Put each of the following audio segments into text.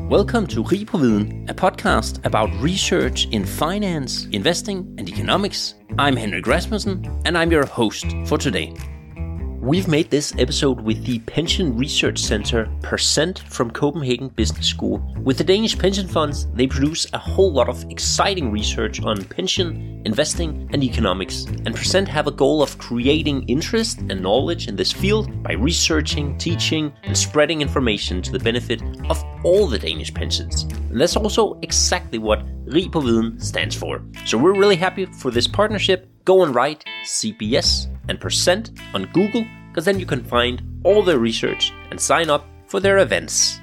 Welcome to Rig på Viden, a podcast about research in finance, investing and economics. I'm Henrik Rasmussen and I'm your host for today. We've made this episode with the Pension Research Center Percent from Copenhagen Business School. With the Danish pension funds, they produce a whole lot of exciting research on pension, investing and economics. And Percent have a goal of creating interest and knowledge in this field by researching, teaching and spreading information to the benefit of all the Danish pensions. And that's also exactly what Rig på Viden stands for. So we're really happy for this partnership. Go and write CBS and Percent on Google, because then you can find all their research and sign up for their events.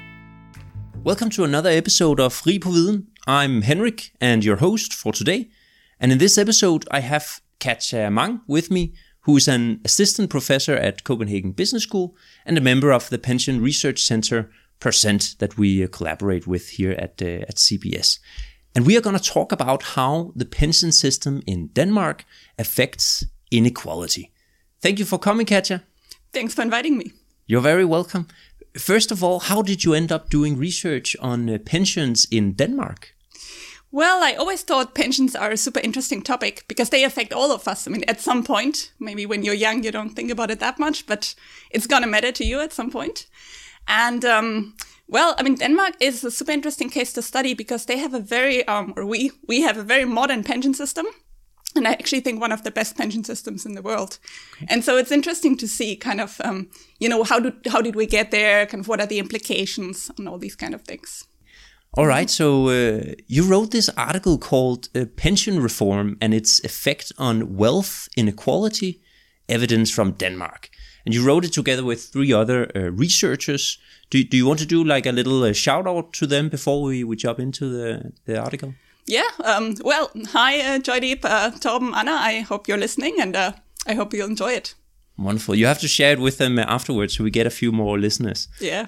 Welcome to another episode of Rig på Viden. I'm Henrik and your host for today. And in this episode I have Katja Mang with me, who is an assistant professor at Copenhagen Business School and a member of the Pension Research Center Percent that we collaborate with here at CBS. And we are going to talk about how the pension system in Denmark affects inequality. Thank you for coming, Katja. Thanks for inviting me. You're very welcome. First of all, how did you end up doing research on pensions in Denmark? Well, I always thought pensions are a super interesting topic because they affect all of us. I mean, at some point, maybe when you're young, you don't think about it that much, but it's going to matter to you at some point. And well, I mean, Denmark is a super interesting case to study because they have a very, we have a very modern pension system. And I actually think one of the best pension systems in the world. Okay. And so it's interesting to see kind of, how did we get there? Kind of what are the implications and all these kind of things. All right. So you wrote this article called Pension Reform and its Effect on Wealth Inequality, Evidence from Denmark. And you wrote it together with three other researchers. Do you want to do like a little shout out to them before we jump into the article? Yeah. Well, hi, Joydeep, Torben, Anna. I hope you're listening and I hope you'll enjoy it. Wonderful. You have to share it with them afterwards so we get a few more listeners. Yeah.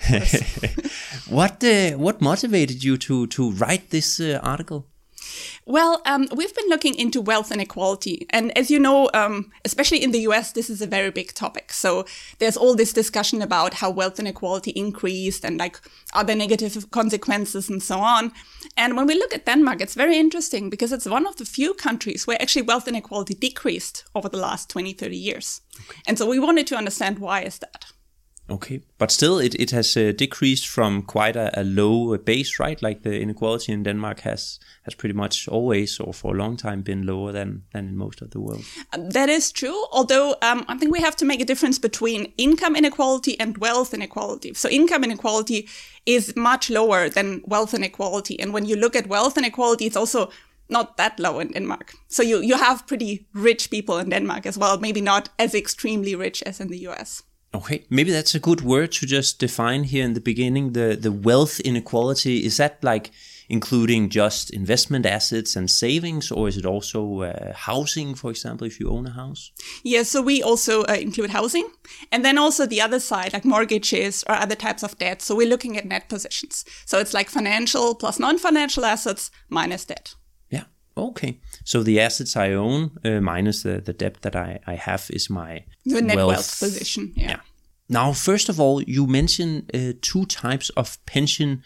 What motivated you to write this article? Well, we've been looking into wealth inequality. And as you know, especially in the US, this is a very big topic. So there's all this discussion about how wealth inequality increased and like other negative consequences and so on. And when we look at Denmark, it's very interesting because it's one of the few countries where actually wealth inequality decreased over the last 20, 30 years. Okay. And so we wanted to understand why is that. Okay, but still it has decreased from quite a low base, right? Like the inequality in Denmark has pretty much always or for a long time been lower than in most of the world. That is true, although I think we have to make a difference between income inequality and wealth inequality. So income inequality is much lower than wealth inequality. And when you look at wealth inequality, it's also not that low in Denmark. So you have pretty rich people in Denmark as well, maybe not as extremely rich as in the US. Okay, maybe that's a good word to just define here in the beginning, the wealth inequality. Is that like including just investment assets and savings, or is it also housing, for example, if you own a house? Yeah, so we also include housing. And then also the other side, like mortgages or other types of debt. So we're looking at net positions. So it's like financial plus non-financial assets minus debt. Yeah, okay. So the assets I own minus the debt that I have is my the net wealth position. Yeah. Now, first of all, you mentioned two types of pension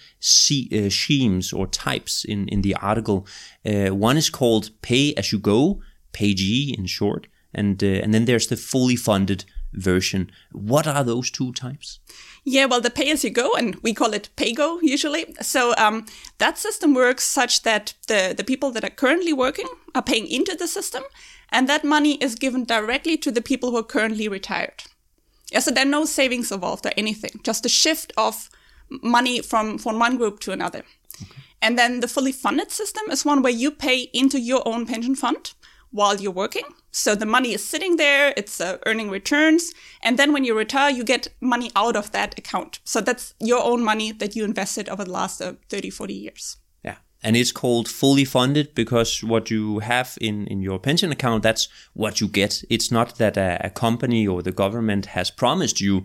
schemes or types in the article. One is called pay-as-you-go, PAYG in short, and then there's the fully funded version. What are those two types? Yeah, well, the pay-as-you-go, and we call it PAYGO usually. So that system works such that the people that are currently working are paying into the system, and that money is given directly to the people who are currently retired. Yeah, so there are no savings involved or anything, just a shift of money from one group to another. Okay. And then the fully funded system is one where you pay into your own pension fund while you're working. So the money is sitting there, it's earning returns. And then when you retire, you get money out of that account. So that's your own money that you invested over the last 30, 40 years. Yeah. And it's called fully funded because what you have in your pension account, that's what you get. It's not that a company or the government has promised you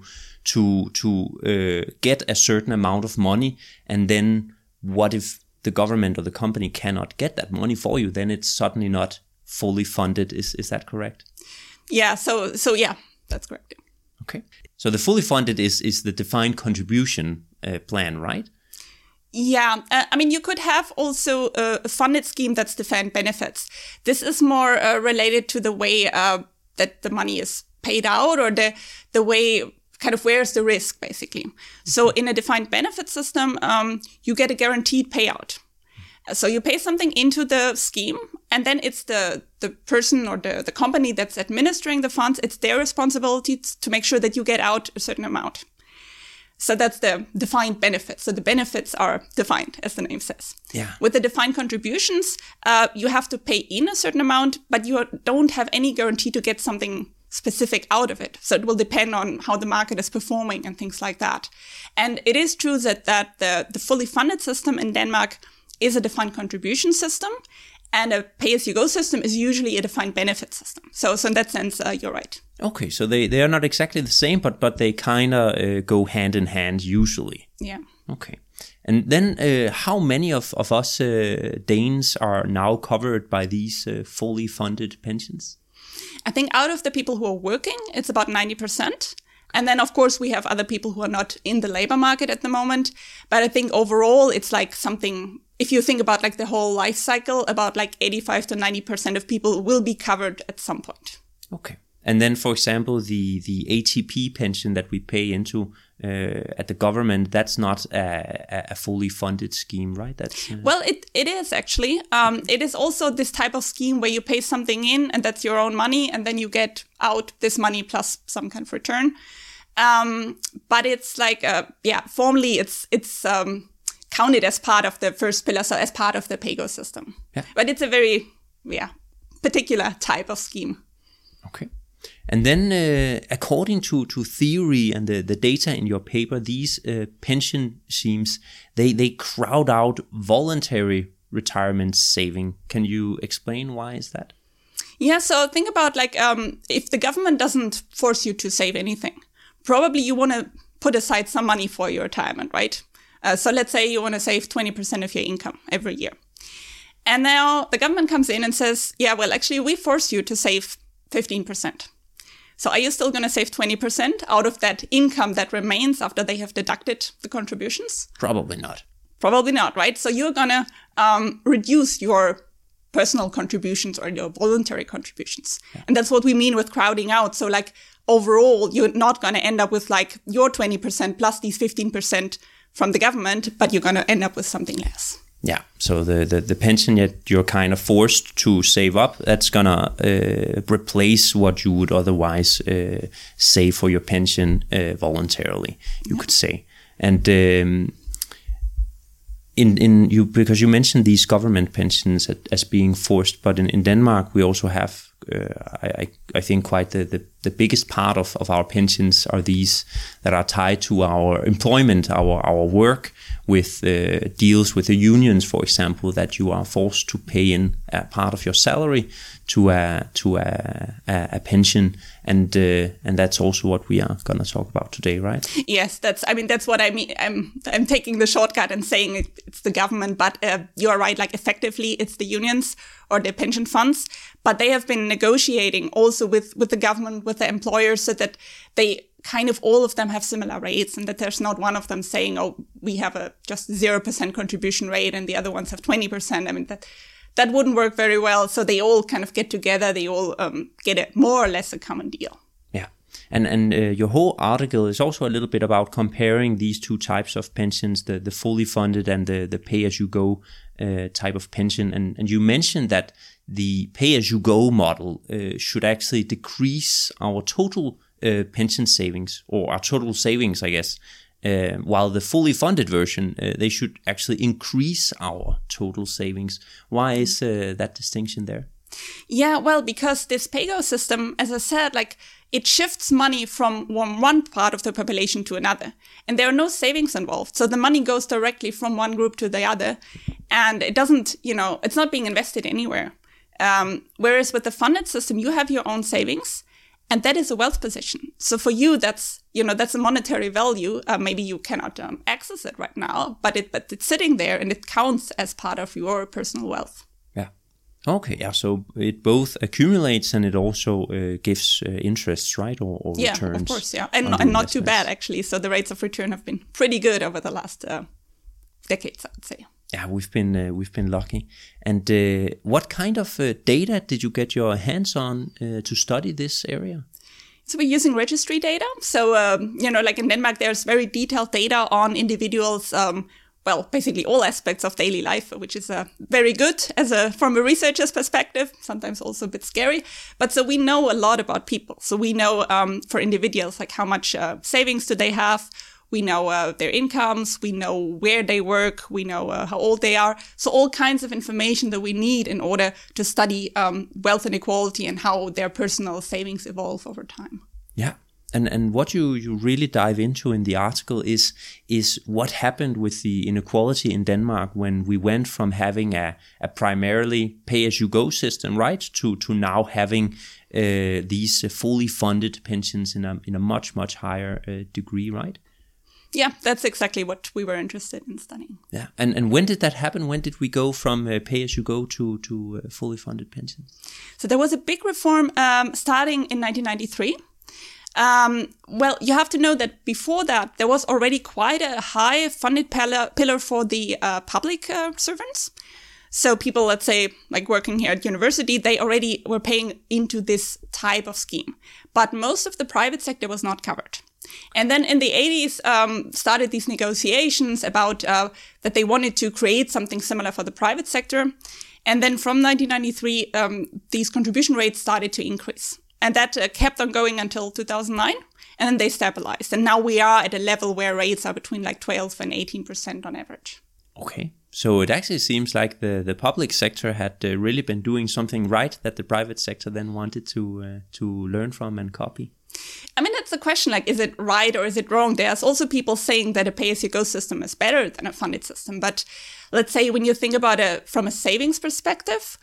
to get a certain amount of money. And then what if the government or the company cannot get that money for you? Then it's suddenly not fully funded. Is that correct? Yeah. So yeah, that's correct. Okay. So the fully funded is the defined contribution plan, right? Yeah, I mean, you could have also a funded scheme that's defined benefits. This is more related to the way that the money is paid out, or the way, kind of, where's the risk, basically. So in a defined benefit system, you get a guaranteed payout. So you pay something into the scheme, and then it's the person or the company that's administering the funds, it's their responsibility to make sure that you get out a certain amount. So that's the defined benefits. So the benefits are defined, as the name says. Yeah. With the defined contributions, you have to pay in a certain amount, but you don't have any guarantee to get something specific out of it. So it will depend on how the market is performing and things like that. And it is true that the fully funded system in Denmark is a defined contribution system, and a pay-as-you-go system is usually a defined benefit system. So in that sense, you're right. Okay, so they are not exactly the same, but they kind of go hand in hand usually. Yeah. Okay. And then how many of us Danes are now covered by these fully funded pensions? I think out of the people who are working, it's about 90%. And then, of course, we have other people who are not in the labor market at the moment. But I think overall, it's like something, if you think about like the whole life cycle, about like 85 to 90% of people will be covered at some point. Okay. And then, for example, the ATP pension that we pay into at the government, that's not a fully funded scheme, right? That's Well, it is actually. It is also this type of scheme where you pay something in, and that's your own money, and then you get out this money plus some kind of return. But it's like, formally it's counted as part of the first pillar, so as part of the PAYGO system. Yeah. But it's a very, particular type of scheme. Okay. And then, according to theory and the data in your paper, these pension schemes, they crowd out voluntary retirement saving. Can you explain why is that? Yeah, so think about like if the government doesn't force you to save anything, probably you want to put aside some money for your retirement, right? So let's say you want to save 20% of your income every year. And now the government comes in and says, yeah, well, actually, we force you to save 15%. So are you still going to save 20% out of that income that remains after they have deducted the contributions? Probably not. Probably not, right? So you're going to reduce your personal contributions or your voluntary contributions. Yeah. And that's what we mean with crowding out. So like overall, you're not going to end up with like your 20% plus these 15% from the government, but you're going to end up with something less. Yeah, so the pension that you're kind of forced to save up, that's gonna replace what you would otherwise save for your pension voluntarily, you could say. And in you, because you mentioned these government pensions as being forced, but in Denmark we also have I think quite the biggest part of our pensions are these that are tied to our employment, our work, with deals with the unions, for example, that you are forced to pay in a part of your salary to a pension, and that's also what we are going to talk about today, right? Yes, that's what I mean. I'm taking the shortcut and saying it's the government, but you're right. Like effectively, it's the unions or the pension funds, but they have been negotiating also with the government, with the employers, so that they kind of all of them have similar rates, and that there's not one of them saying, oh, we have a just 0% contribution rate and the other ones have 20%. I mean, that wouldn't work very well. So they all kind of get together. They all get more or less a common deal. Yeah. And your whole article is also a little bit about comparing these two types of pensions, the fully funded and the pay-as-you-go type of pension. And you mentioned that the pay-as-you-go model should actually decrease our total pension savings, or our total savings, I guess, while the fully funded version, they should actually increase our total savings. Why is that distinction there? Yeah, well, because this PAYGO system, as I said, like it shifts money from one part of the population to another, and there are no savings involved. So the money goes directly from one group to the other, and it doesn't, it's not being invested anywhere. Whereas with the funded system, you have your own savings, and that is a wealth position. So for you, that's a monetary value. Maybe you cannot access it right now, but it's sitting there and it counts as part of your personal wealth. Yeah. Okay. Yeah. So it both accumulates and it also gives interests, right? Or returns. Yeah, of course. Yeah. And not too bad, actually. So the rates of return have been pretty good over the last decades, I would say. Yeah, we've been lucky. And what kind of data did you get your hands on to study this area? So we're using registry data. So, like in Denmark, there's very detailed data on individuals, basically all aspects of daily life, which is very good from a researcher's perspective, sometimes also a bit scary. But so we know a lot about people. So we know for individuals, like how much savings do they have? We know their incomes, we know where they work, we know how old they are. So all kinds of information that we need in order to study wealth inequality and how their personal savings evolve over time. Yeah. And what you really dive into in the article is what happened with the inequality in Denmark when we went from having a primarily pay-as-you-go system, right, to now having these fully funded pensions in a much, much higher degree, right? Yeah, that's exactly what we were interested in studying. Yeah, and when did that happen? When did we go from pay-as-you-go to fully funded pensions? So there was a big reform starting in 1993. You have to know that before that, there was already quite a high funded pillar for the public servants. So people, let's say, like working here at university, they already were paying into this type of scheme. But most of the private sector was not covered. And then in the 80s, started these negotiations about that they wanted to create something similar for the private sector. And then from 1993, these contribution rates started to increase. And that kept on going until 2009. And then they stabilized. And now we are at a level where rates are between like 12 and 18% on average. Okay. So it actually seems like the public sector had really been doing something right that the private sector then wanted to learn from and copy. I mean, that's the question, like, is it right or is it wrong? There's also people saying that a pay-as-you-go system is better than a funded system. But let's say when you think about it from a savings perspective,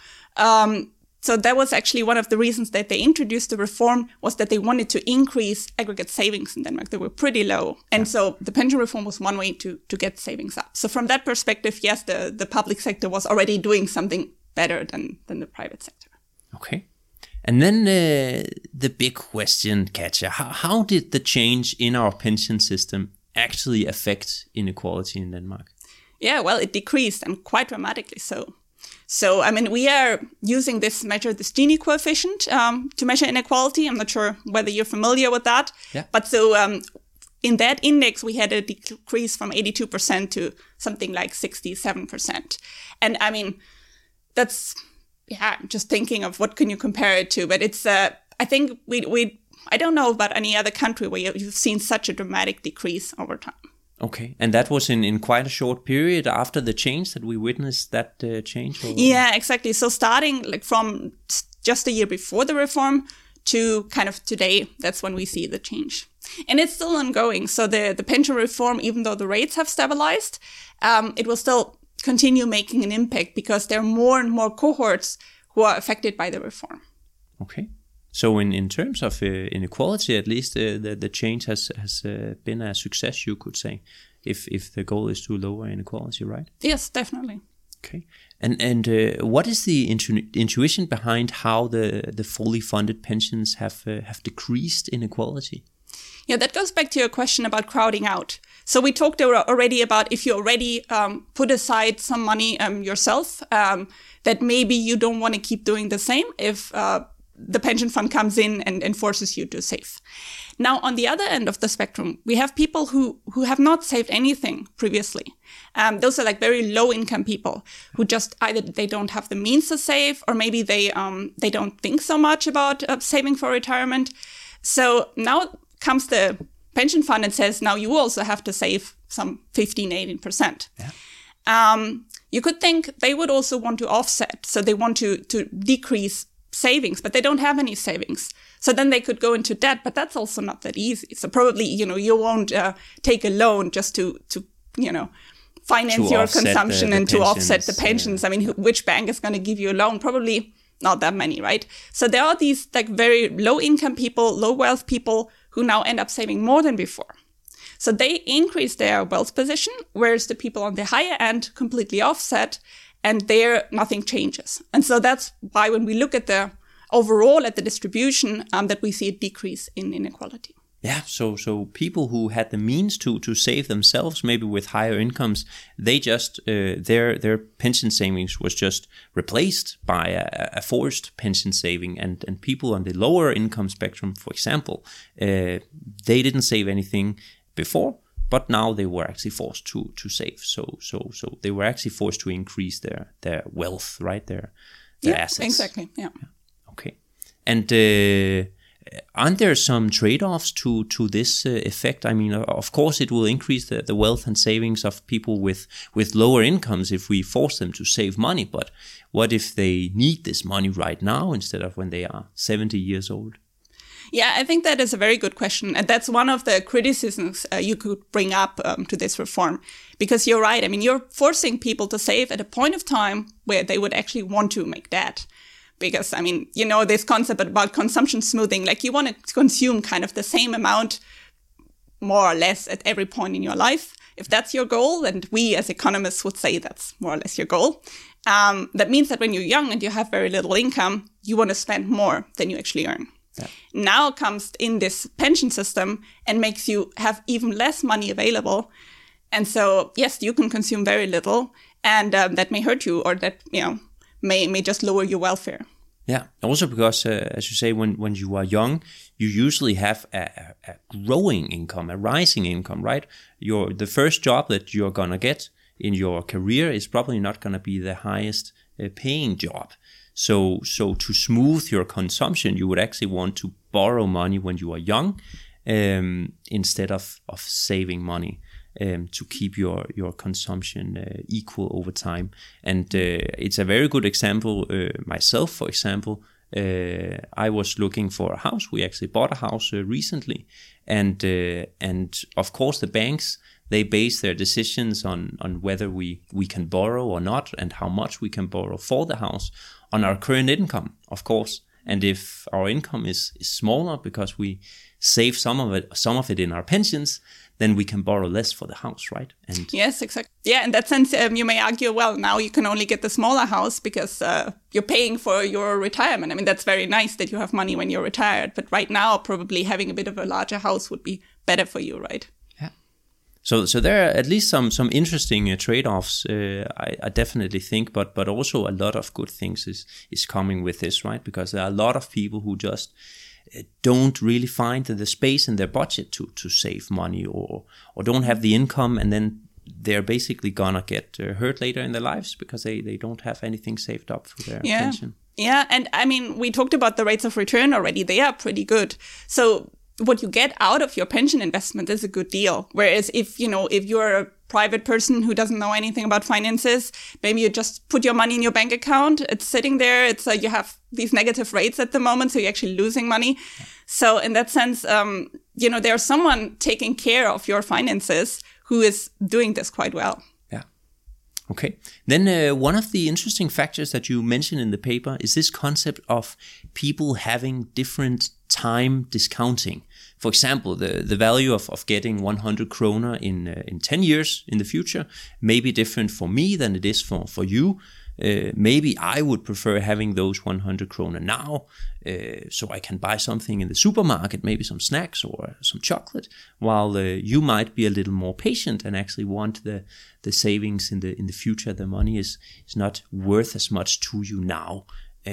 so that was actually one of the reasons that they introduced the reform was that they wanted to increase aggregate savings in Denmark. They were pretty low. And so the pension reform was one way to get savings up. So from that perspective, yes, the public sector was already doing something better than the private sector. Okay. And then the big question, Katja, how did the change in our pension system actually affect inequality in Denmark? Yeah, well, it decreased and quite dramatically so. So, I mean, we are using this measure, this Gini coefficient, to measure inequality. I'm not sure whether you're familiar with that. Yeah. But so in that index, we had a decrease from 82% to something like 67%. And I mean, that's... Yeah, just thinking of what can you compare it to. But it's, I think I don't know about any other country where you've seen such a dramatic decrease over time. Okay. And that was in quite a short period after the change that we witnessed that change? Or? Yeah, exactly. So starting like from just a year before the reform to kind of today, that's when we see the change. And it's still ongoing. So the pension reform, even though the rates have stabilized, it will still continue making an impact because there are more and more cohorts who are affected by the reform. Okay. So in terms of inequality, at least the change has been a success, you could say, if the goal is to lower inequality, right? Yes, definitely. Okay. And what is the intuition behind how the fully funded pensions have decreased inequality? Yeah, that goes back to your question about crowding out. So we talked already about if you already put aside some money yourself, that maybe you don't want to keep doing the same if the pension fund comes in and forces you to save. Now, on the other end of the spectrum, we have people who have not saved anything previously. Those are like very low income people who just either they don't have the means to save or maybe they don't think so much about saving for retirement. So now comes the pension fund and says, now you also have to save some 15-18%. Yeah. You could think they would also want to offset. So they want to decrease savings, but they don't have any savings. So then they could go into debt, but that's also not that easy. So probably, you won't take a loan just to finance your consumption and to offset the pensions. Yeah. I mean, which bank is going to give you a loan? Probably not that many, right? So there are these like very low income people, low wealth people who now end up saving more than before. So they increase their wealth position, whereas the people on the higher end completely offset and there nothing changes. And so that's why when we look at the overall at the distribution, that we see a decrease in inequality. Yeah, so people who had the means to save themselves, maybe with higher incomes, they just their pension savings was just replaced by a forced pension saving, and people on the lower income spectrum, for example, they didn't save anything before, but now they were actually forced to save. So they were actually forced to increase their wealth, right? Their assets. Exactly. Yeah. Okay, and. Aren't there some trade-offs to this effect? I mean, of course, it will increase the wealth and savings of people with lower incomes if we force them to save money. But what if they need this money right now instead of when they are 70 years old? Yeah, I think that is a very good question. And that's one of the criticisms you could bring up to this reform. Because you're right. I mean, you're forcing people to save at a point of time where they would actually want to make that. Because, I mean, you know, this concept about consumption smoothing, like you want to consume kind of the same amount, more or less, at every point in your life. If that's your goal, and we as economists would say that's more or less your goal, that means that when you're young and you have very little income, you want to spend more than you actually earn. Yeah. Now comes in this pension system and makes you have even less money available. And so, yes, you can consume very little, and that may hurt you, or that, you know, may just lower your welfare. Yeah, also because, as you say, when you are young, you usually have a growing income, a rising income, right? The first job that you're going to get in your career is probably not going to be the highest paying job. So to smooth your consumption, you would actually want to borrow money when you are young instead of saving money. To keep your consumption equal over time. And it's a very good example. Myself, for example, I was looking for a house. We actually bought a house recently. And of course, the banks, they base their decisions on whether we can borrow or not, and how much we can borrow for the house on our current income, of course. And if our income is smaller because we save some of it in our pensions, then we can borrow less for the house, right? And yes, exactly. Yeah, in that sense, you may argue, well, now you can only get the smaller house because you're paying for your retirement. I mean, that's very nice that you have money when you're retired, but right now, probably having a bit of a larger house would be better for you, right? Yeah. So there are at least some interesting trade-offs, I definitely think, but also a lot of good things is coming with this, right? Because there are a lot of people who just don't really find the space in their budget to save money, or don't have the income, and then they're basically gonna get hurt later in their lives because they don't have anything saved up for their pension. Yeah, and I mean, we talked about the rates of return already. They are pretty good. So what you get out of your pension investment is a good deal. Whereas if you're a private person who doesn't know anything about finances, maybe you just put your money in your bank account. It's sitting there. It's you have these negative rates at the moment, so you're actually losing money. Yeah. So in that sense, there's someone taking care of your finances who is doing this quite well. Yeah. Okay. Then one of the interesting factors that you mentioned in the paper is this concept of people having different time discounting. For example, the value of getting 100 kroner in 10 years in the future may be different for me than it is for you. Maybe I would prefer having those 100 kroner now, so I can buy something in the supermarket, maybe some snacks or some chocolate, while you might be a little more patient and actually want the savings in the future. The money is not worth as much to you now.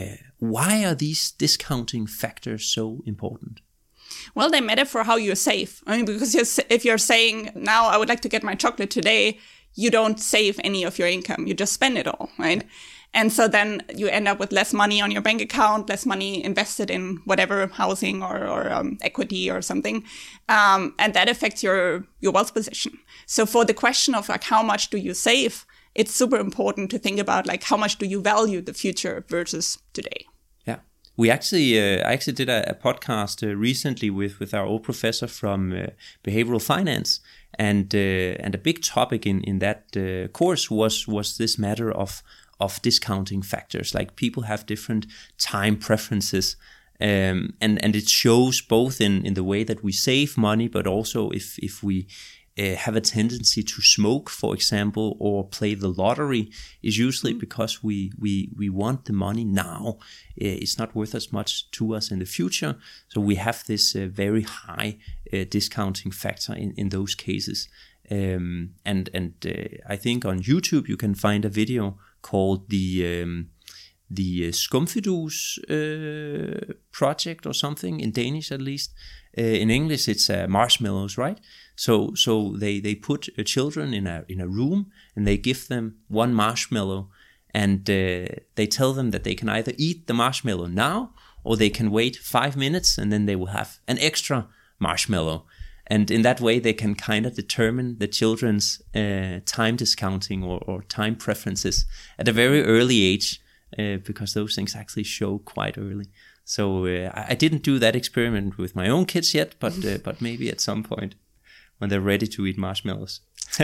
Why are these discounting factors so important? Well, they matter for how you save. I mean, because if you're saying, now I would like to get my chocolate today, you don't save any of your income. You just spend it all, right? And so then you end up with less money on your bank account, less money invested in whatever housing or equity or something. And that affects your wealth position. So for the question of like, how much do you save? It's super important to think about like, how much do you value the future versus today? Yeah. We actually, I actually did a podcast recently with our old professor from behavioral finance, and a big topic in that course was this matter of discounting factors. Like, people have different time preferences, and it shows both in the way that we save money, but also if we have a tendency to smoke, for example, or play the lottery is usually because we want the money now. It's not worth as much to us in the future. So we have this very high discounting factor in those cases. And I think on YouTube you can find a video called the Skumfidus project or something, in Danish at least. In English it's marshmallows, right? So they put children in a room and they give them one marshmallow, and they tell them that they can either eat the marshmallow now or they can wait 5 minutes and then they will have an extra marshmallow. And in that way they can kind of determine the children's time discounting or time preferences at a very early age, because those things actually show quite early. So I didn't do that experiment with my own kids yet, but maybe at some point when they're ready to eat marshmallows.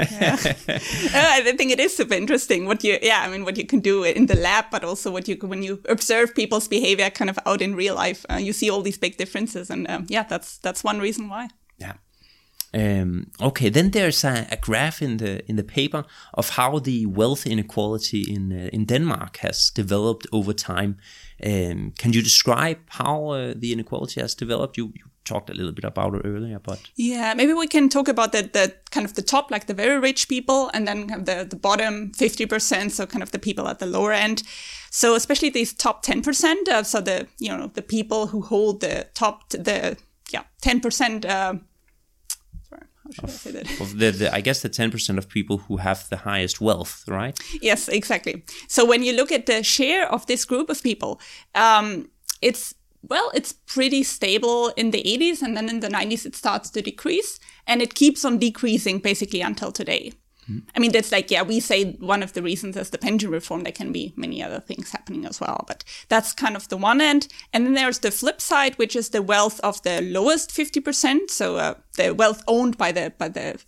I think it is super interesting what you can do in the lab, but also when you observe people's behavior kind of out in real life, you see all these big differences, and that's one reason why. Yeah. Okay, then there's a graph in the paper of how the wealth inequality in Denmark has developed over time. Can you describe how the inequality has developed? You talked a little bit about it earlier, but maybe we can talk about the kind of the top, like the very rich people, and then kind of the bottom 50%, so kind of the people at the lower end. So especially these top 10%, so the people who hold the 10%. How should I say that? Of I guess the 10% of people who have the highest wealth, right? Yes, exactly. So when you look at the share of this group of people, it's pretty stable in the 80s, and then in the 90s it starts to decrease, and it keeps on decreasing basically until today. I mean, that's we say one of the reasons is the pension reform. There can be many other things happening as well, but that's kind of the one end. And then there's the flip side, which is the wealth of the lowest 50%. So the wealth owned by the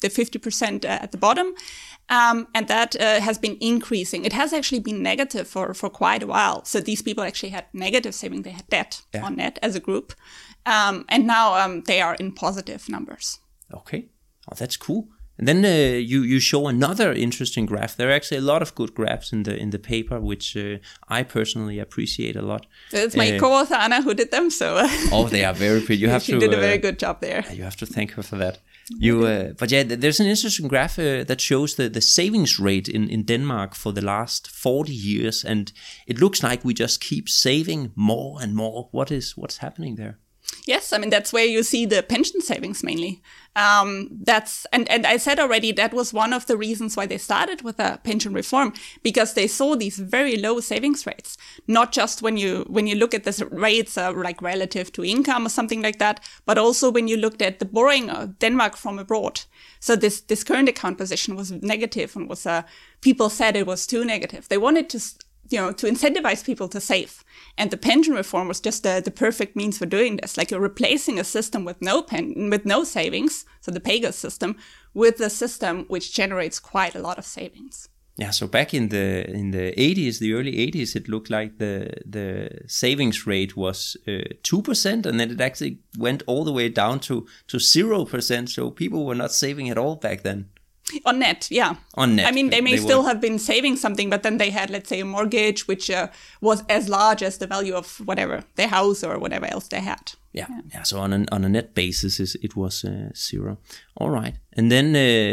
50% at the bottom. And that has been increasing. It has actually been negative for quite a while. So these people actually had negative saving. They had debt on net as a group. And now they are in positive numbers. Okay. Oh, that's cool. And then you show another interesting graph. There are actually a lot of good graphs in the paper, which I personally appreciate a lot. It's my co-author Anna who did them. So they are very pretty. She did a very good job there. You have to thank her for that. There's an interesting graph that shows the savings rate in Denmark for the last 40 years, and it looks like we just keep saving more and more. What's happening there? Yes, I mean, that's where you see the pension savings mainly. And I said already that was one of the reasons why they started with a pension reform, because they saw these very low savings rates. Not just when you look at the rates like relative to income or something like that, but also when you looked at the borrowing of Denmark from abroad. So this current account position was negative, and people said it was too negative. They wanted to incentivize people to save. And the pension reform was just the perfect means for doing this. Like, you're replacing a system with no savings, so the PAYGO system, with a system which generates quite a lot of savings. Yeah, so back in the 80s, the early 80s, it looked like the savings rate was 2%, and then it actually went all the way down to 0%. So people were not saving at all back then. On net, yeah. On net. I mean, they may still have been saving something, but then they had, let's say, a mortgage, which was as large as the value of whatever, their house or whatever else they had. Yeah. So on a net basis, it was 0. All right. And then,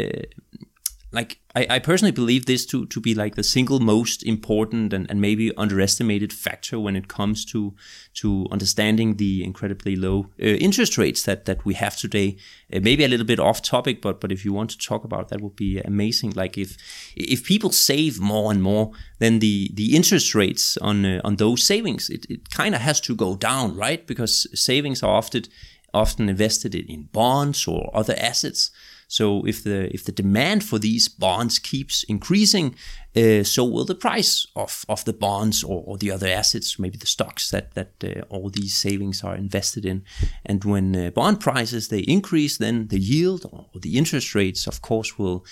I personally believe this to be like the single most important and maybe underestimated factor when it comes to understanding the incredibly low interest rates that we have today. Maybe a little bit off topic, but if you want to talk about that, would be amazing. Like if people save more and more, then the interest rates on those savings, it kind of has to go down, right? Because savings are often invested in bonds or other assets. So if the demand for these bonds keeps increasing, so will the price of the bonds or the other assets, maybe the stocks that all these savings are invested in. And when bond prices they increase, then the yield or the interest rates, of course, will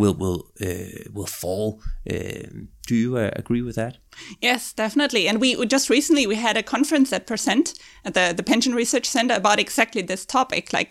fall. Do you agree with that? Yes, definitely. And we just recently we had a conference at Percent at the Pension Research Center about exactly this topic. Like,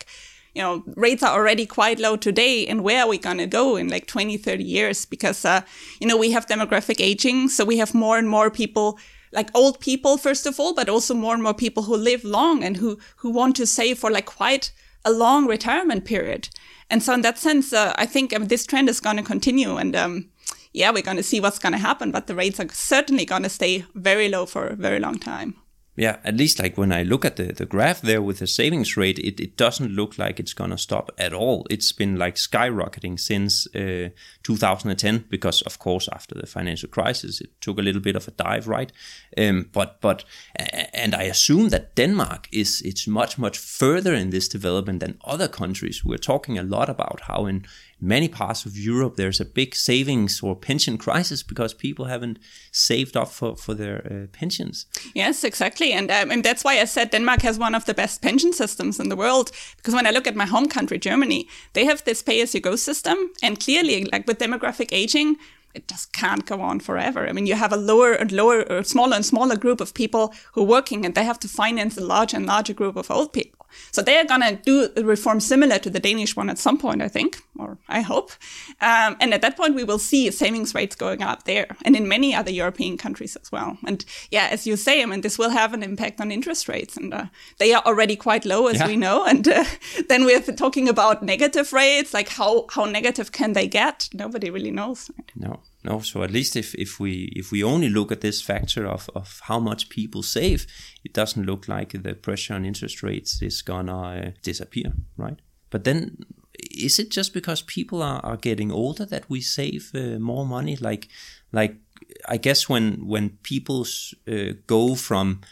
rates are already quite low today, and where are we going to go in like 20, 30 years? Because, we have demographic aging, so we have more and more people, like old people, first of all, but also more and more people who live long and who want to save for like quite a long retirement period. And so in that sense, I think this trend is going to continue, and we're going to see what's going to happen, but the rates are certainly going to stay very low for a very long time. Yeah, at least like when I look at the graph there with the savings rate, it doesn't look like it's going to stop at all. It's been like skyrocketing since 2010 because, of course, after the financial crisis, it took a little bit of a dive, right? But I assume that Denmark it's much further in this development than other countries. We're talking a lot about how in many parts of Europe there's a big savings or pension crisis because people haven't saved up for their pensions. Yes, exactly. And that's why I said Denmark has one of the best pension systems in the world. Because when I look at my home country, Germany, they have this pay-as-you-go system. And clearly, like with demographic aging, it just can't go on forever. I mean, you have a lower and lower, or smaller and smaller group of people who are working, and they have to finance a larger and larger group of old people. So they are going to do a reform similar to the Danish one at some point, I think, or I hope. And at that point, we will see savings rates going up there and in many other European countries as well. And as you say, I mean, this will have an impact on interest rates, and they are already quite low, as we know. And then we're talking about negative rates, like how negative can they get? Nobody really knows. Right? No. So at least if we only look at this factor of how much people save, it doesn't look like the pressure on interest rates is gonna disappear, right? But then, is it just because people are getting older that we save more money? Like I guess when people go from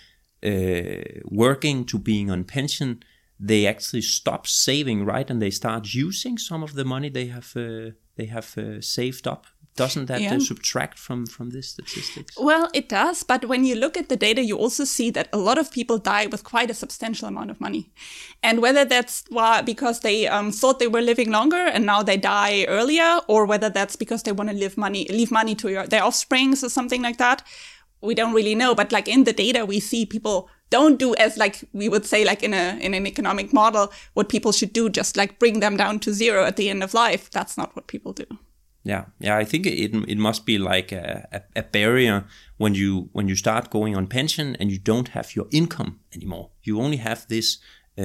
working to being on pension, they actually stop saving, right? And they start using some of the money they have saved up. Doesn't that subtract from this statistics? Well, it does. But when you look at the data, you also see that a lot of people die with quite a substantial amount of money. And whether that's because they thought they were living longer and now they die earlier, or whether that's because they want to leave money to their offsprings or something like that, we don't really know. But like in the data, we see people don't do as like we would say like in an economic model, what people should do, just like bring them down to zero at the end of life. That's not what people do. Yeah. I think it must be like a barrier when you start going on pension and you don't have your income anymore. You only have this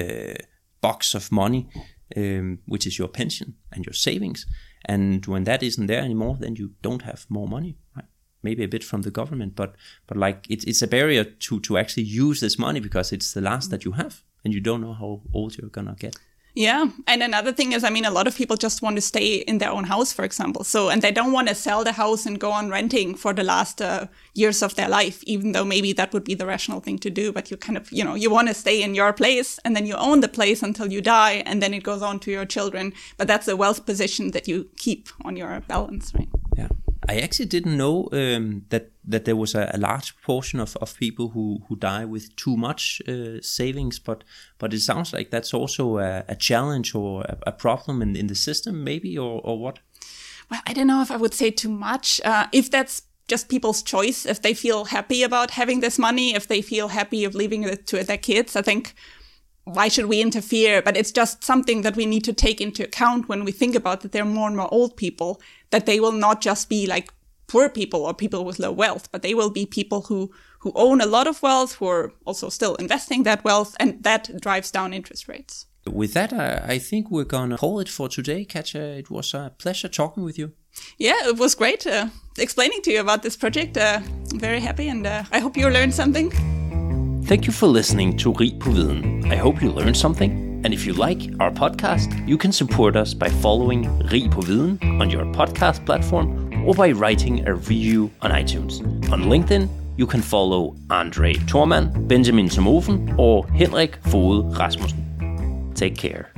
box of money, which is your pension and your savings. And when that isn't there anymore, then you don't have more money, right? Maybe a bit from the government, but like it's a barrier to actually use this money because it's the last that you have and you don't know how old you're gonna get. Yeah. And another thing is, I mean, a lot of people just want to stay in their own house, for example. So, and they don't want to sell the house and go on renting for the last years of their life, even though maybe that would be the rational thing to do. But you kind of, you want to stay in your place and then you own the place until you die and then it goes on to your children. But that's a wealth position that you keep on your balance, right? Yeah. I actually didn't know that there was a large portion of people who die with too much savings, but it sounds like that's also a challenge or a problem in the system, maybe, or what? Well, I don't know if I would say too much. If that's just people's choice, if they feel happy about having this money, if they feel happy of leaving it to their kids, I think, why should we interfere? But it's just something that we need to take into account when we think about that there are more and more old people, that they will not just be like poor people or people with low wealth, but they will be people who own a lot of wealth, who are also still investing that wealth, and that drives down interest rates. With that, I think we're going to call it for today, Katja. It was a pleasure talking with you. Yeah, it was great explaining to you about this project. I'm very happy, and I hope you learned something. Thank you for listening to Rig på Viden. I hope you learned something. And if you like our podcast, you can support us by following Rig på Viden on your podcast platform or by writing a review on iTunes. On LinkedIn, you can follow Andre Thormann, Benjamin Somofen or Henrik Foged Rasmussen. Take care.